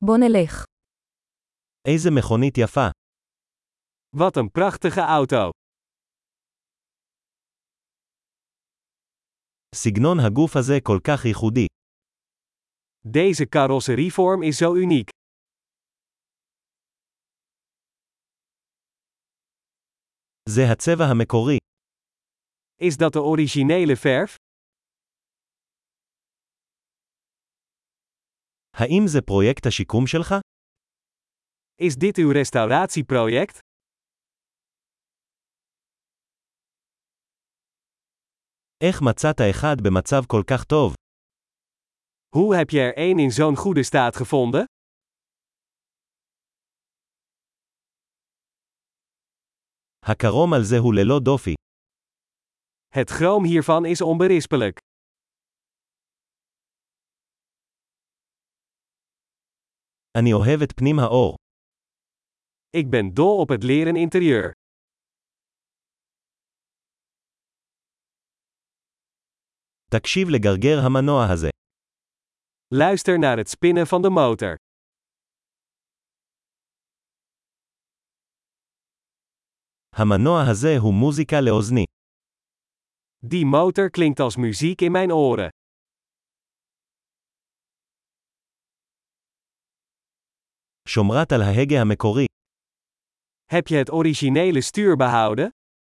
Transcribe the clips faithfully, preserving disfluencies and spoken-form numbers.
בוא נלך. איזה מכונית יפה. Wat een prachtige auto. סגנון הגוף הזה כל כך ייחודי. Deze carrosserievorm is zo uniek. זה הצבע המקורי. Is dat de originele verf? האם זה פרויקט השיקום שלך? Is dit uw restauratieproject? איך מצאת אחד במצב כל כך טוב? Hoe heb je er één in zo'n goede staat gevonden? הקרום על זה הוא ללא דופי. Het chroom hiervan is onberispelijk. אני אוהב את פנים האור. Ik ben dol op het leren interieur. תקשיב לגרגר המנוע הזה. Luister naar het spinnen van de motor. המנוע הזה הוא מוזיקה לאוזני. Die motor klinkt als muziek in mijn oren. שומרת על ההגה המקורי. Heb je het originele stuur behouden?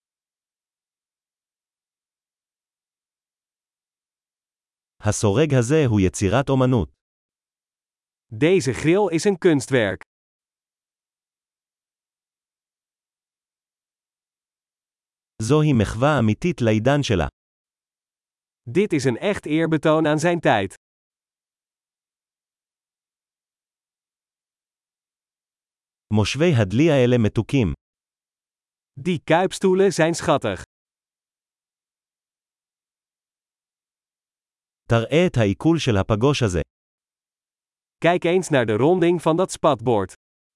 הסורג הזה הוא יצירת אומנות. Deze grill is een kunstwerk. זוהי מחווה אמיתית לעידן שלה. Dit is een echt eerbetoon aan zijn tijd. מושבי הדלי האלה מתוקים. Die kuipstoelen zijn schattig. תראה את העיכול של הפגוש הזה. Kijk eens naar de ronding van dat spatbord.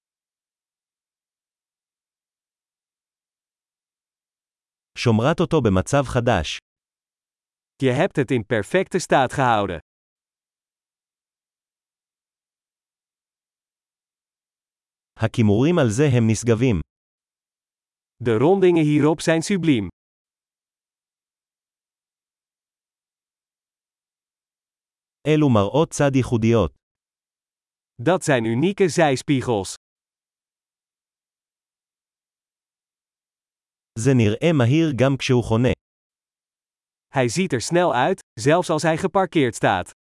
שומרת אותו במצב חדש. Je hebt het in perfecte staat gehouden. הכימורים על זה הם נשגבים. De rondingen hierop zijn subliem. אלו מראות צד ייחודיות. Dat zijn unieke zijspiegels. זה נראה מהיר גם כשהוא חונה. Hij ziet er snel uit, zelfs als hij geparkeerd staat.